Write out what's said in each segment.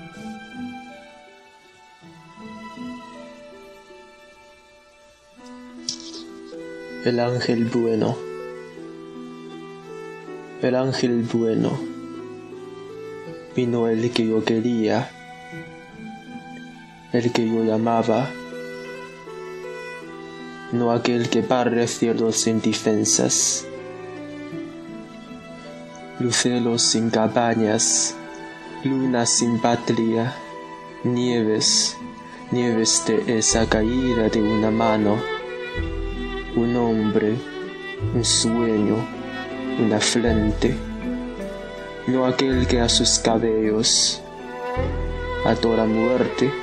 El ángel bueno. El ángel bueno. Vino el que yo quería, el que yo llamaba, no aquel que barre cielos sin defensas, luceros sin cabañas, lunas sin patria, nieves de esa caída de una mano, un hombre, un sueño, una frente, no aquel que a sus cabellos ató la muerte,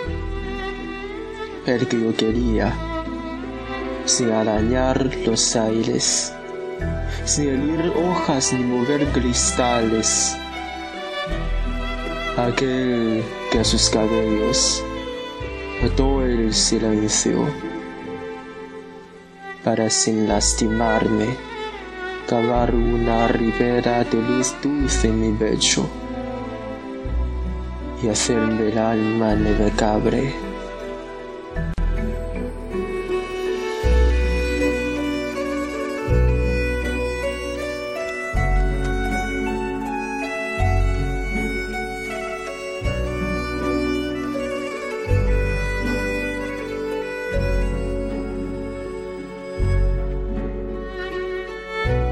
el que yo quería, sin arañar los aires, sin herir hojas ni mover cristales, aquel que a sus cabellos ató el silencio, para sin lastimarme cavar una ribera de luz dulce en mi pecho y hacerme el alma navegable.